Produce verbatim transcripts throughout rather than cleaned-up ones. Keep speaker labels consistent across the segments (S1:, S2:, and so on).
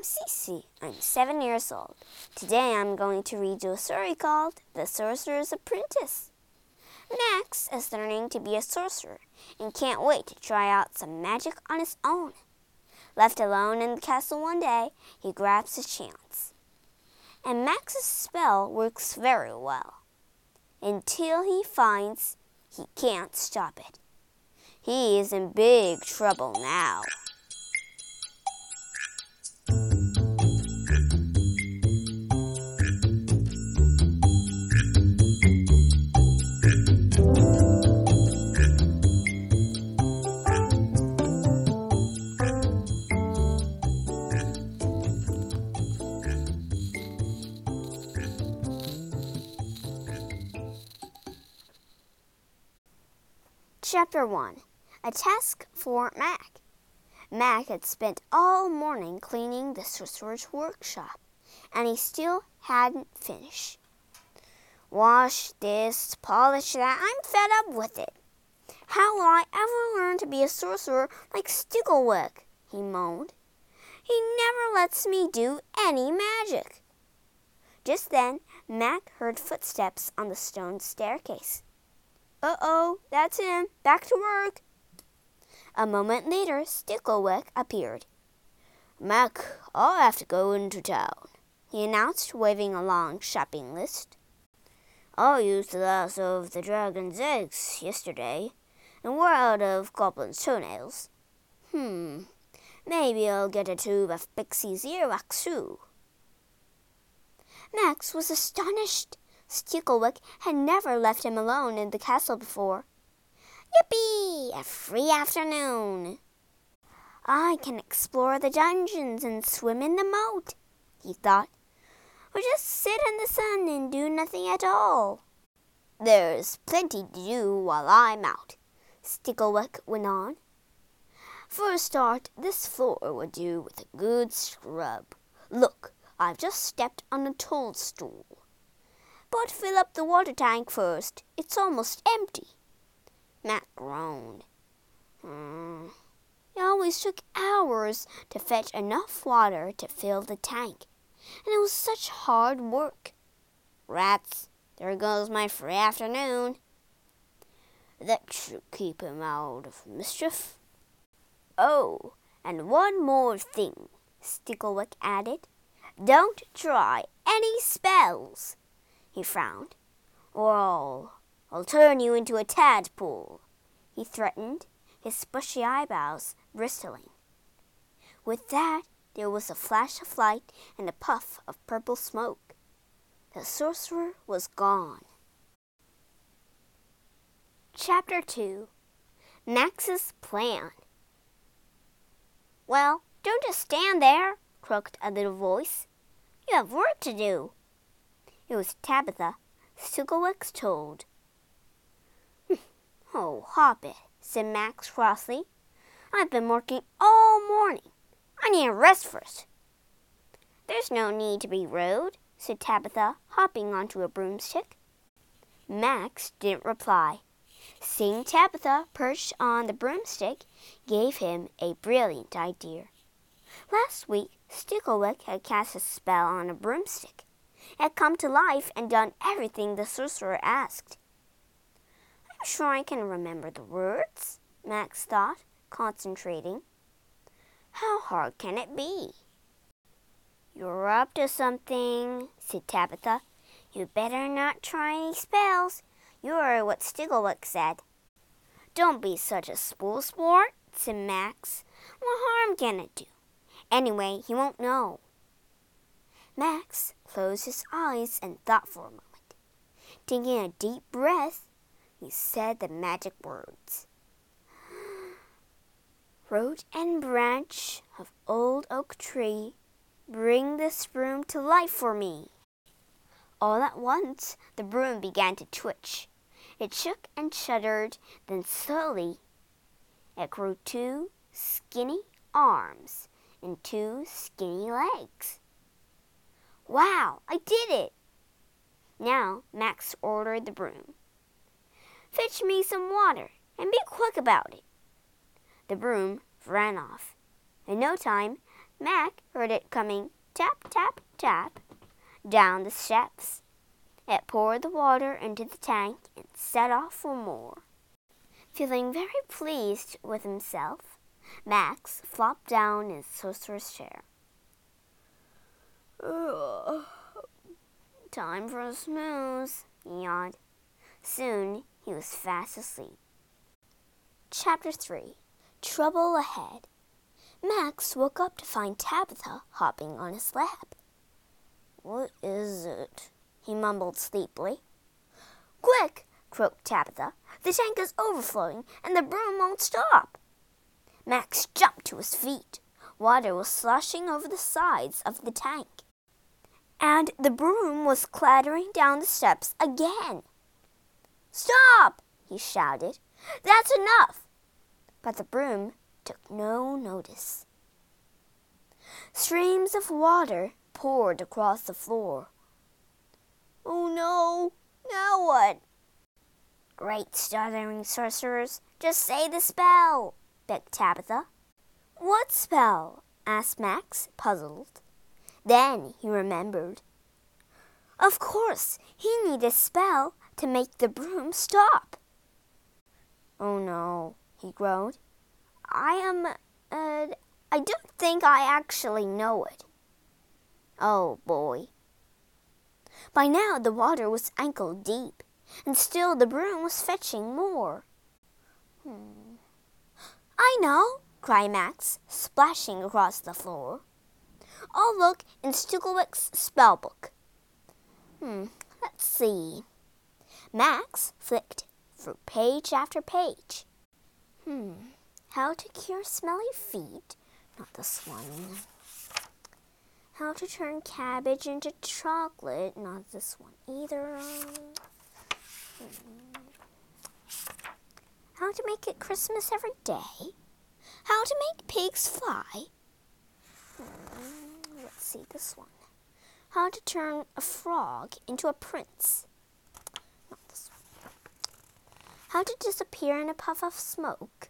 S1: Cece. I'm seven years old. Today I'm going to read you a story called The Sorcerer's Apprentice. Max is learning to be a sorcerer and can't wait to try out some magic on his own. Left alone in the castle one day, he grabs his chance. And Max's spell works very well, until he finds he can't stop it. He is in big trouble now. Chapter one. A Task for Mac. Mac had spent all morning cleaning the sorcerer's workshop, and he still hadn't finished. Wash this, polish that, I'm fed up with it. How will I ever learn to be a sorcerer like Sticklewick? He moaned. He never lets me do any magic. Just then, Mac heard footsteps on the stone staircase. Uh-oh, that's him. Back to work. A moment later, Sticklewick appeared. Mac, I'll have to go into town, he announced, waving a long shopping list. I used the last of the dragon's eggs yesterday, and we're out of goblin's toenails. Hmm, maybe I'll get a tube of Pixie's earwax too. Max was astonished. Sticklewick had never left him alone in the castle before. Yippee! A free afternoon! I can explore the dungeons and swim in the moat, he thought, or just sit in the sun and do nothing at all. There's plenty to do while I'm out, Sticklewick went on. For a start, this floor would do with a good scrub. Look, I've just stepped on a toadstool. But fill up the water tank first. It's almost empty. Mac groaned. Hmm. It always took hours to fetch enough water to fill the tank, and it was such hard work. Rats, there goes my free afternoon. That should keep him out of mischief. Oh, and one more thing, Sticklewick added. Don't try any spells. He frowned. Or I'll, I'll turn you into a tadpole, he threatened, his bushy eyebrows bristling. With that, there was a flash of light and a puff of purple smoke. The sorcerer was gone. Chapter two. Max's Plan. Well, don't just stand there, croaked a little voice. You have work to do. It was Tabitha, Sticklewick's toad. Oh, hop it, said Max crossly. I've been working all morning. I need a rest first. There's no need to be rude, said Tabitha, hopping onto a broomstick. Max didn't reply. Seeing Tabitha perched on the broomstick gave him a brilliant idea. Last week, Sticklewick had cast a spell on a broomstick. It had come to life and done everything the sorcerer asked. I'm sure I can remember the words, Max thought, concentrating. How hard can it be? You're up to something, said Tabitha. You better not try any spells. You're what Sticklewick said. Don't be such a spoil sport, said Max. What harm can it do? Anyway, he won't know. Max closed his eyes and thought for a moment. Taking a deep breath, he said the magic words. Root and branch of old oak tree, bring this broom to life for me. All at once, the broom began to twitch. It shook and shuddered, then slowly it grew two skinny arms and two skinny legs. Wow, I did it! Now Max ordered the broom. Fetch me some water, and be quick about it. The broom ran off. In no time, Mac heard it coming tap, tap, tap down the steps. It poured the water into the tank and set off for more. Feeling very pleased with himself, Max flopped down in his sorcerer's chair. Ugh. Time for a snooze, he yawned. Soon he was fast asleep. Chapter three. Trouble Ahead. Max woke up to find Tabitha hopping on his lap. What is it? He mumbled sleepily. Quick, croaked Tabitha. The tank is overflowing and the broom won't stop. Max jumped to his feet. Water was sloshing over the sides of the tank, and the broom was clattering down the steps again. Stop! He shouted. That's enough! But the broom took no notice. Streams of water poured across the floor. Oh no! Now what? Great stuttering sorcerers, just say the spell, begged Tabitha. What spell? Asked Max, puzzled. Then he remembered. Of course, he needed a spell to make the broom stop. Oh no, he groaned. I am, uh, I don't think I actually know it. Oh boy. By now the water was ankle deep, and still the broom was fetching more. Hmm. I know, cried Max, splashing across the floor. I'll look in Sticklewick's spellbook. Hmm, let's see. Max flicked through page after page. Hmm, how to cure smelly feet? Not this one. How to turn cabbage into chocolate? Not this one either. Hmm. How to make it Christmas every day? How to make pigs fly? Hmm. Let's see this one. How to turn a frog into a prince? Not this one. How to disappear in a puff of smoke?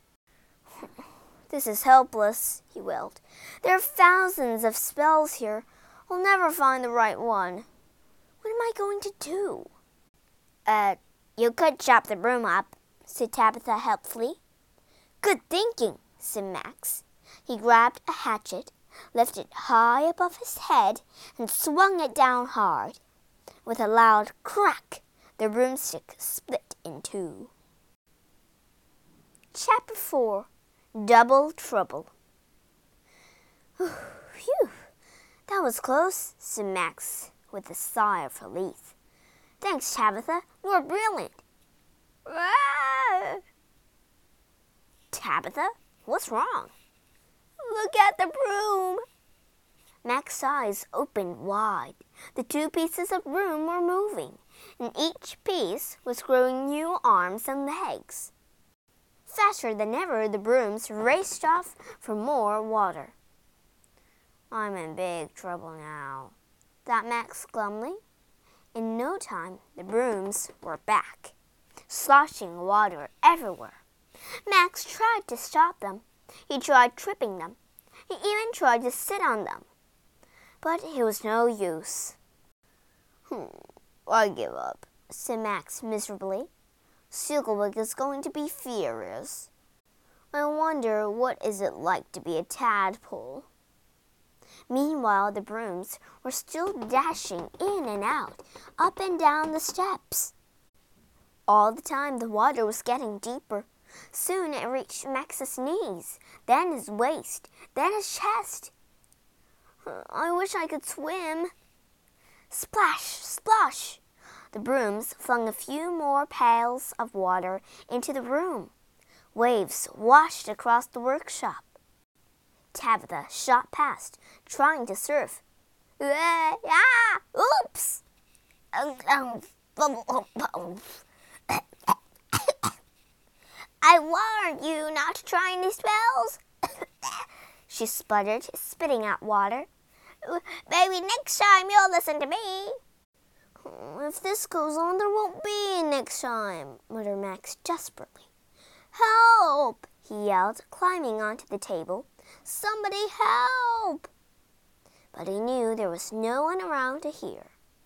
S1: This is helpless, he wailed. There are thousands of spells here. I'll never find the right one. What am I going to do? Uh, you could chop the broom up, said Tabitha helpfully. Good thinking, said Max. He grabbed a hatchet, lifted it high above his head, and swung it down hard. With a loud crack, the broomstick split in two. Chapter four. Double Trouble. Phew, that was close, said Max with a sigh of relief. Thanks, Tabitha. You're brilliant. Ah! Tabitha, what's wrong? Look at the broom. Max's eyes opened wide. The two pieces of broom were moving, and each piece was growing new arms and legs. Faster than ever, the brooms raced off for more water. I'm in big trouble now, thought Max glumly. In no time, the brooms were back, sloshing water everywhere. Max tried to stop them. He tried tripping them. He even tried to sit on them. But it was no use. Hmm, I give up, said Max miserably. Sticklewick is going to be furious. I wonder what is it like to be a tadpole. Meanwhile, the brooms were still dashing in and out, up and down the steps. All the time the water was getting deeper. Soon it reached Max's knees, then his waist, then his chest. I wish I could swim. Splash, splash! The brooms flung a few more pails of water into the room. Waves washed across the workshop. Tabitha shot past, trying to surf. Ah! Oops! I warned you not to try any spells, she sputtered, spitting out water. Maybe next time you'll listen to me. If this goes on, there won't be a next time, muttered Max desperately. Help! He yelled, climbing onto the table. Somebody help! But he knew there was no one around to hear.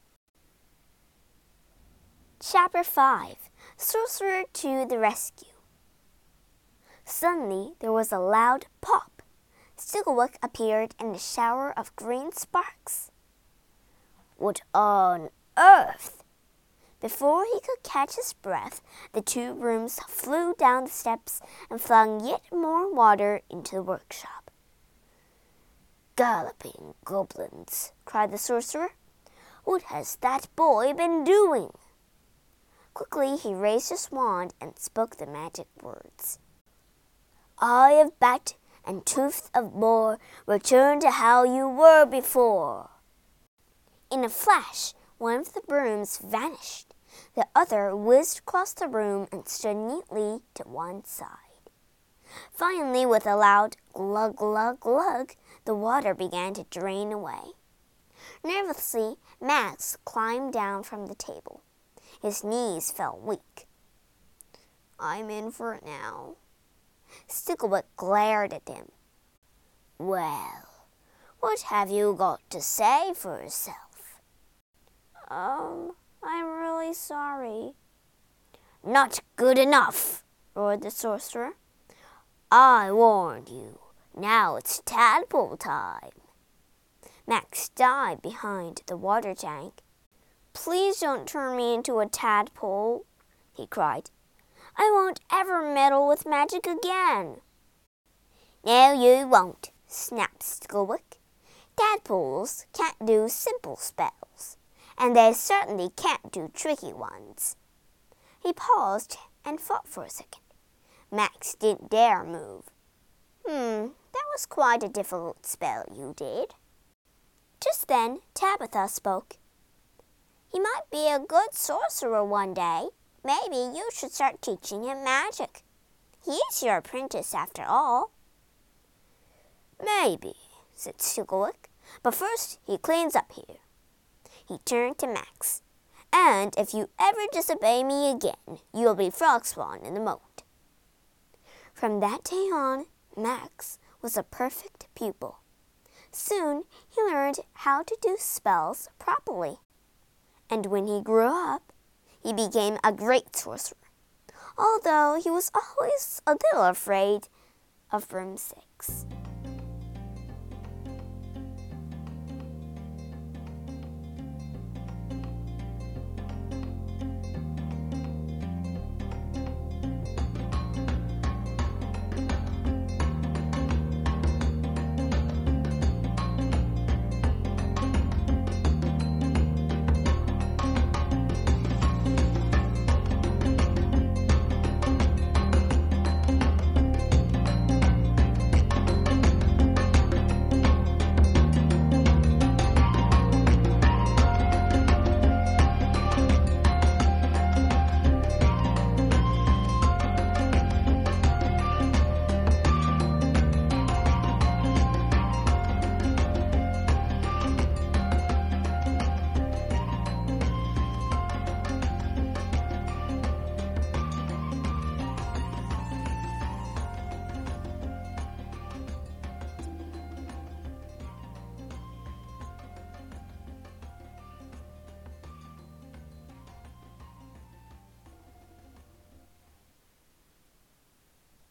S1: Chapter five. Sorcerer to the Rescue. Suddenly there was a loud pop. Stigglewick appeared in a shower of green sparks. What on earth? Before he could catch his breath, the two brooms flew down the steps and flung yet more water into the workshop. Galloping goblins, cried the sorcerer. What has that boy been doing? Quickly he raised his wand and spoke the magic words. Eye of bat and tooth of boar, return to how you were before. In a flash, one of the brooms vanished. The other whizzed across the room and stood neatly to one side. Finally, with a loud glug, glug, glug, the water began to drain away. Nervously, Max climbed down from the table. His knees felt weak. I'm in for it now. Stigglewick glared at him. Well, what have you got to say for yourself? Um, I'm really sorry. Not good enough, roared the sorcerer. I warned you. Now it's tadpole time. Max dived behind the water tank. Please don't turn me into a tadpole, he cried. I won't ever meddle with magic again. No, you won't, snapped Stigglewick. Tadpoles can't do simple spells, and they certainly can't do tricky ones. He paused and thought for a second. Max didn't dare move. Hmm, that was quite a difficult spell you did. Just then, Tabitha spoke. He might be a good sorcerer one day. Maybe you should start teaching him magic. He's your apprentice after all. Maybe, said Stigglewick, but first he cleans up here. He turned to Max. And if you ever disobey me again, you'll be frog spawn in the moat. From that day on, Max was a perfect pupil. Soon he learned how to do spells properly. And when he grew up, he became a great sorcerer, although he was always a little afraid of broomsticks.